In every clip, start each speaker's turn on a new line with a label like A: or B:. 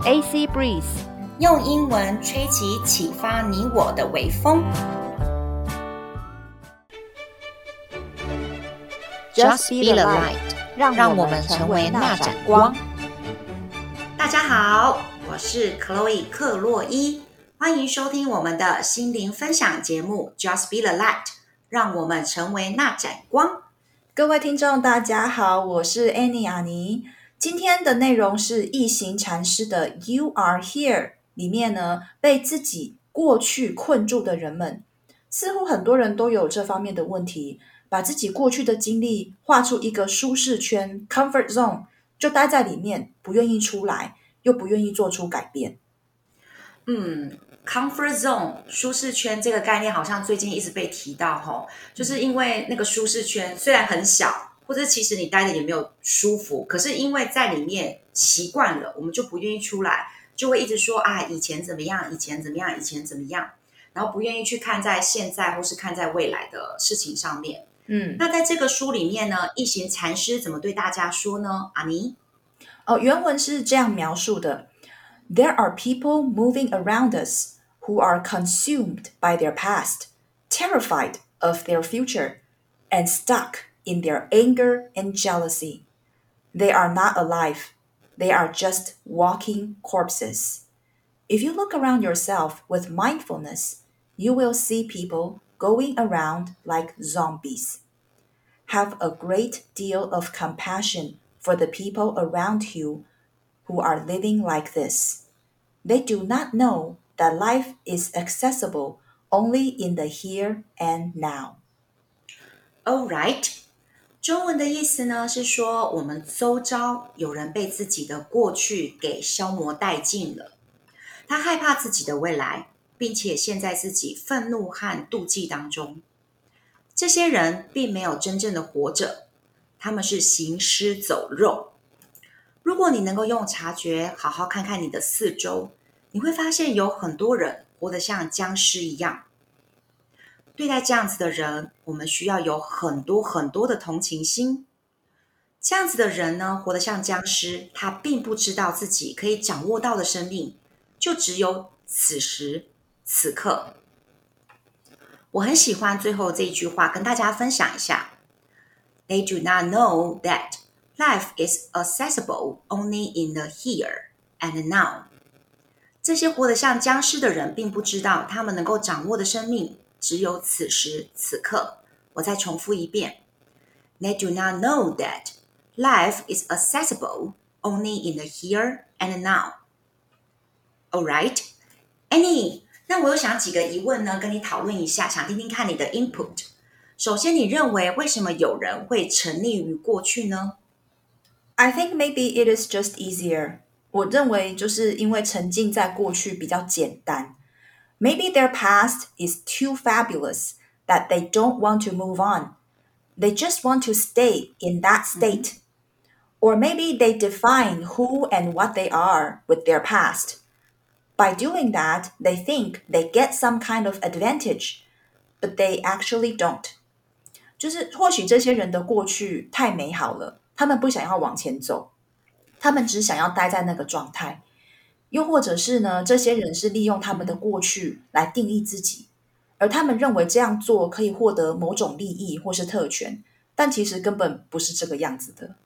A: AC Breeze，
B: 用英文吹起啟發你我的微風。
A: Just be the light， 讓我们成為那盞光。
B: 大家好，我是 Chloe 克洛伊，歡迎收聽我們的心靈分享節目 Just be the light， 讓我們成為那盞光。
C: 各位聽眾大家好，我是 Annie 阿妮。今天的內容是一行禪師的 You are here 裡面呢，被自己過去困住的人們，似乎很多人都有這方面的問題，把自己過去的經歷畫出一個舒適圈 comfort zone， 就待在裡面，不願意出來，又不願意做出改變。
B: comfort zone 舒適圈這個概念好像最近一直被提到，就是因為那個舒適圈雖然很小，或者其實你待的也沒有舒服，可是因為在裡面習慣了，我們就不願意出來，就會一直說啊，以前怎麼樣，以前怎麼樣，以前怎麼樣，然後不願意去看在現在或是看在未來的事情上面。那在這個書裡面呢，一行禪師怎麼對大家說呢？阿妮？
C: 原文是這樣描述的。There are people moving around us who are consumed by their past, terrified of their future, and stuck in their anger and jealousy. They are not alive. They are just walking corpses. If you look around yourself with mindfulness, you will see people going around like zombies. Have a great deal of compassion for the people around you who are living like this. They do not know that life is accessible only in the here and now.
B: All right. 中文的意思呢，是說我們周遭有人被自己的過去給消磨殆盡了，他害怕自己的未來，並且陷在自己憤怒和妒忌當中。這些人並沒有真正的活着，他們是行屍走肉。如果你能夠用察覺好好看看你的四周，你會發現有很多人活得像僵屍一樣。對待這樣子的人，我們需要有很多很多的同情心。這樣子的人呢，活得像僵屍，他並不知道自己可以掌握到的生命，就只有此時此刻。我很喜歡最後這一句話，跟大家分享一下。They do not know that life is accessible only in the here and now. 這些活得像僵屍的人，並不知道他們能夠掌握的生命只有此時此刻。我再重複一遍。They do not know that life is accessible only in the here and now. All right, Annie, 那我有想幾個疑問呢，跟你討論一下，想聽聽看你的 input。首先，你認為什麼有人會沉溺於過去呢？
C: I think maybe it is just easier. 我認為就是因為沉浸在過去比較簡單。Maybe their past is too fabulous that they don't want to move on. They just want to stay in that state. Or maybe they define who and what they are with their past. By doing that, they think they get some kind of advantage, but they actually don't. 就是或許這些人的過去太美好了，他們不想要往前走，他們只想要待在那個狀態。又或者是呢，這些人是利用他們的過去來定義自己，而他們認為這樣做可以獲得某種利益或是特權，但其實根本不是這個樣子的。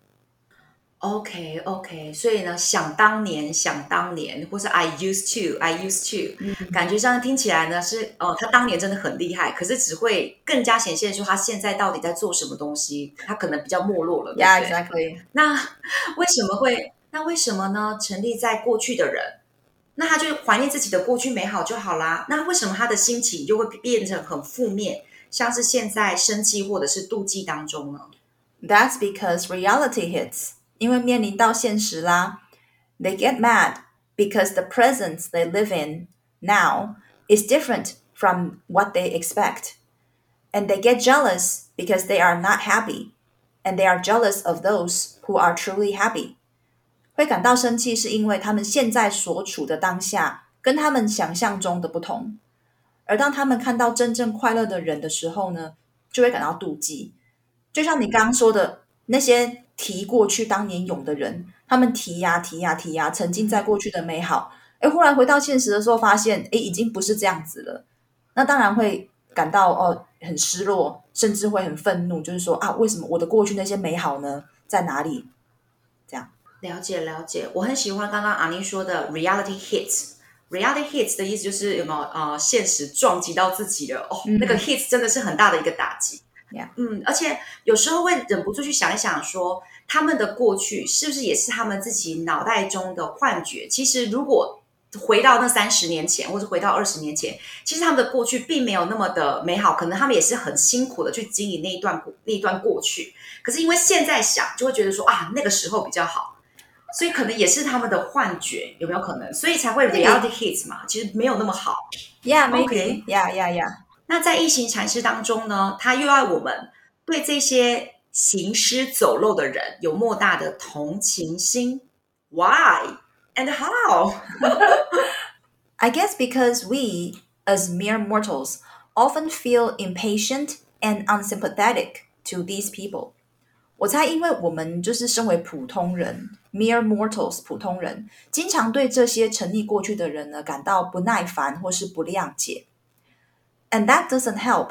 B: OK， 所以呢，想當年，或是 I used to，感覺上聽起來呢是，他當年真的很厲害，可是只會更加顯現出他現在到底在做什麼東西，他可能比較沒落了。
C: Yeah, exactly.
B: 那為什麼呢？沉溺在過去的人，那他就懷念自己的過去美好就好啦。那為什麼他的心情就會變成很負面，像是現在生氣或者是妒忌當中呢？
C: That's because reality hits. 因為面臨到現實啦。They get mad because the present they live in now is different from what they expect. And they get jealous because they are not happy. And they are jealous of those who are truly happy. 會感到生氣是因為他們現在所處的當下跟他們想象中的不同。而當他們看到真正快樂的人的時候呢，就會感到妒忌。就像你剛剛說的，那些提過去當年勇的人，他們提呀，沉浸在過去的美好，忽然回到現實的時候發現，已經不是這樣子了，那當然會感到很失落，甚至會很憤怒，就是說為什麼我的過去那些美好呢在哪裡？這樣。
B: 了解，我很喜歡剛剛阿妮說的 reality hits。reality hits 的意思就是有沒有現實撞擊到自己了那個 hits 真的是很大的一個打擊。而且有時候會忍不住去想一想說，他們的過去是不是也是他們自己腦袋中的幻覺？其實如果回到那30年前，或者回到20年前，其實他們的過去並沒有那麼的美好，可能他們也是很辛苦的去經營那一段過去。可是因為現在想，就會覺得說那個時候比較好，所以可能也是他們的幻覺，有沒有可能？所以才會 reality hits 嘛，其實沒有那麼好。
C: Yeah, maybe. Yeah.
B: 那在一行禪師當中呢，他又要我們对這些行屍走肉的人有莫大的同情心。Why and how?
C: I guess because we, as mere mortals, often feel impatient and unsympathetic to these people. 我猜因為我們就是身為普通人 mere mortals 普通人，經常對這些沉溺過去的人呢感到不耐煩或是不諒解。And that doesn't help.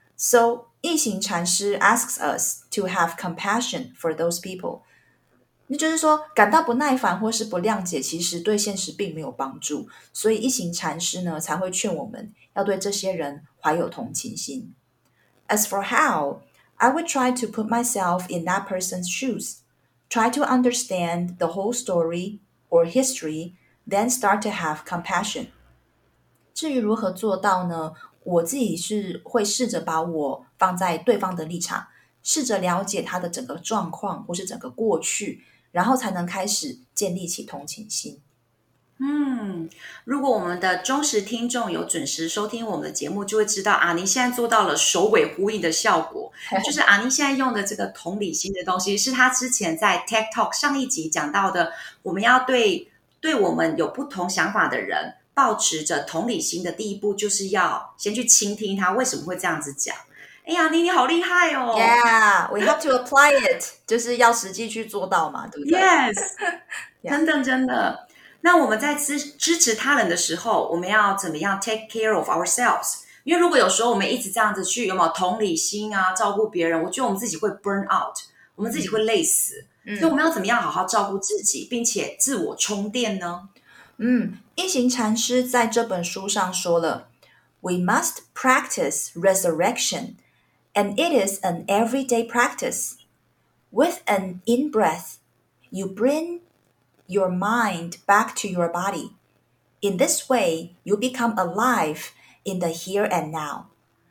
C: So, 一行禪師 asks us to have compassion for those people. 那就是說，感到不耐煩或是不諒解，其實對現實並沒有幫助。所以一行禪師呢，才會勸我們要對這些人懷有同情心。As for how, I would try to put myself in that person's shoes, try to understand the whole story or history, then start to have compassion. 至於如何做到呢？我自己是會試着把我放在對方的立場，試着了解他的整個狀況或是整個過去，然後才能開始建立起同情心。
B: 如果我們的忠實聽眾有準時收聽我們的節目，就會知道阿妮現在做到了首尾呼應的效果。就是阿妮現在用的這個同理心的東西，是她之前在 TED Talk 上一集講到的，我們要對我們有不同想法的人抱持着同理心的第一步，就是要先去傾聽他為什麼會這樣子講。阿妮你好厲害哦
C: Yeah, we have to apply it 就是要實際去做到嘛，對不对？
B: Yes 真的。那我們在支持他人的時候，我們要怎麼樣 take care of ourselves？ 因為如果有時候我們一直這樣子去有沒有同理心照顧別人，我覺得我們自己會 burn out， 我們自己會累死。所以我們要怎麼樣好好照顧自己，並且自我充電呢？
C: 一行禪師在這本書上說了 We must practice resurrection, and it is an everyday practice. With an in-breath, you bring your mind back to your body. In this way, you become alive in the here and now.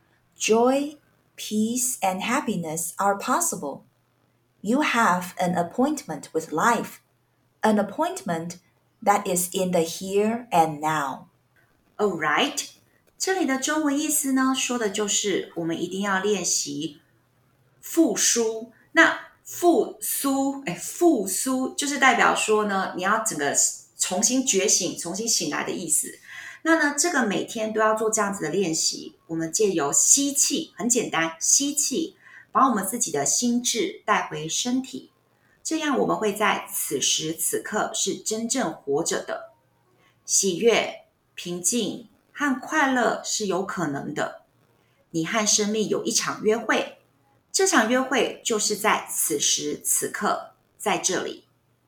C: Joy, peace, and happiness are possible. You have an appointment with life, an appointment that is in the here and now.
B: All right. 這裡的中文意思呢，說的就是我們一定要練習復甦。那復甦就是代表說呢，你要整個重新覺醒、重新醒來的意思。那呢，這個每天都要做這樣子的練習。我們借由吸氣，很簡單，吸氣，把我們自己的心智帶回身體，這樣我們會在此時此刻是真正活着的。喜悅、平靜和快樂是有可能的。你和生命有一場約會，這場約會就是在此時此刻，在這裡。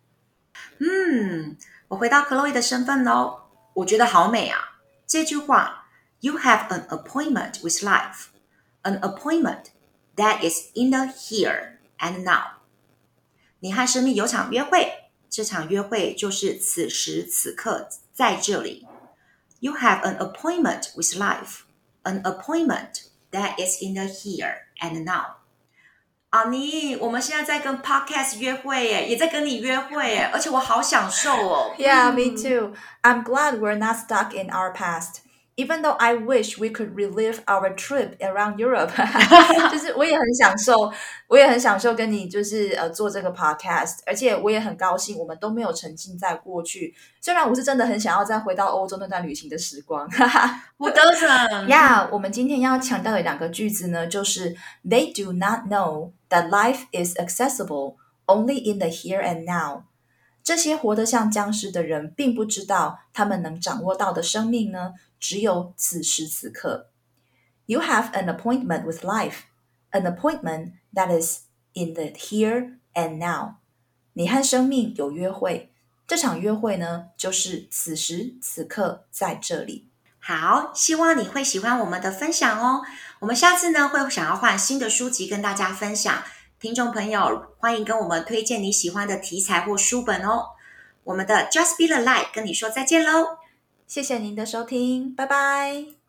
B: 我回到 Chloe 的身份咯，我覺得好美啊。這句話 You have an appointment with life, an appointment that is in the here and now. 你和生命有場約會，這場約會就是此時此刻在這裡。You have an appointment with life, an appointment that is in the here and now. 阿妮，我們現在在跟 Podcast 約會耶，也在跟你約會耶，而且我好享受哦。
C: Yeah, me too. I'm glad we're not stuck in our past. Even though I wish we could relive our trip around Europe. 就是我也很享受跟你就是做這個 podcast， 而且我也很高興我們都沒有沉浸在過去。雖然我是真的很想要再回到歐洲那段旅行的時光。
B: 我都想。
C: Yeah, 我們今天要強調的兩個句子呢，就是 They do not know that life is accessible only in the here and now。這些活得像僵屍的人並不知道他們能掌握到的生命呢，只有此時此刻。You have an appointment with life, an appointment that is in the here and now。你和生命有約會，這場約會呢，就是此時此刻在這裡。
B: 好，希望你會喜歡我們的分享哦。我們下次呢，會想要換新的書籍跟大家分享。聽眾朋友，歡迎跟我們推薦你喜歡的題材或書本哦。我們的 Just Be the Light 跟你說再見嘍。
C: 謝謝您的收聽，拜拜。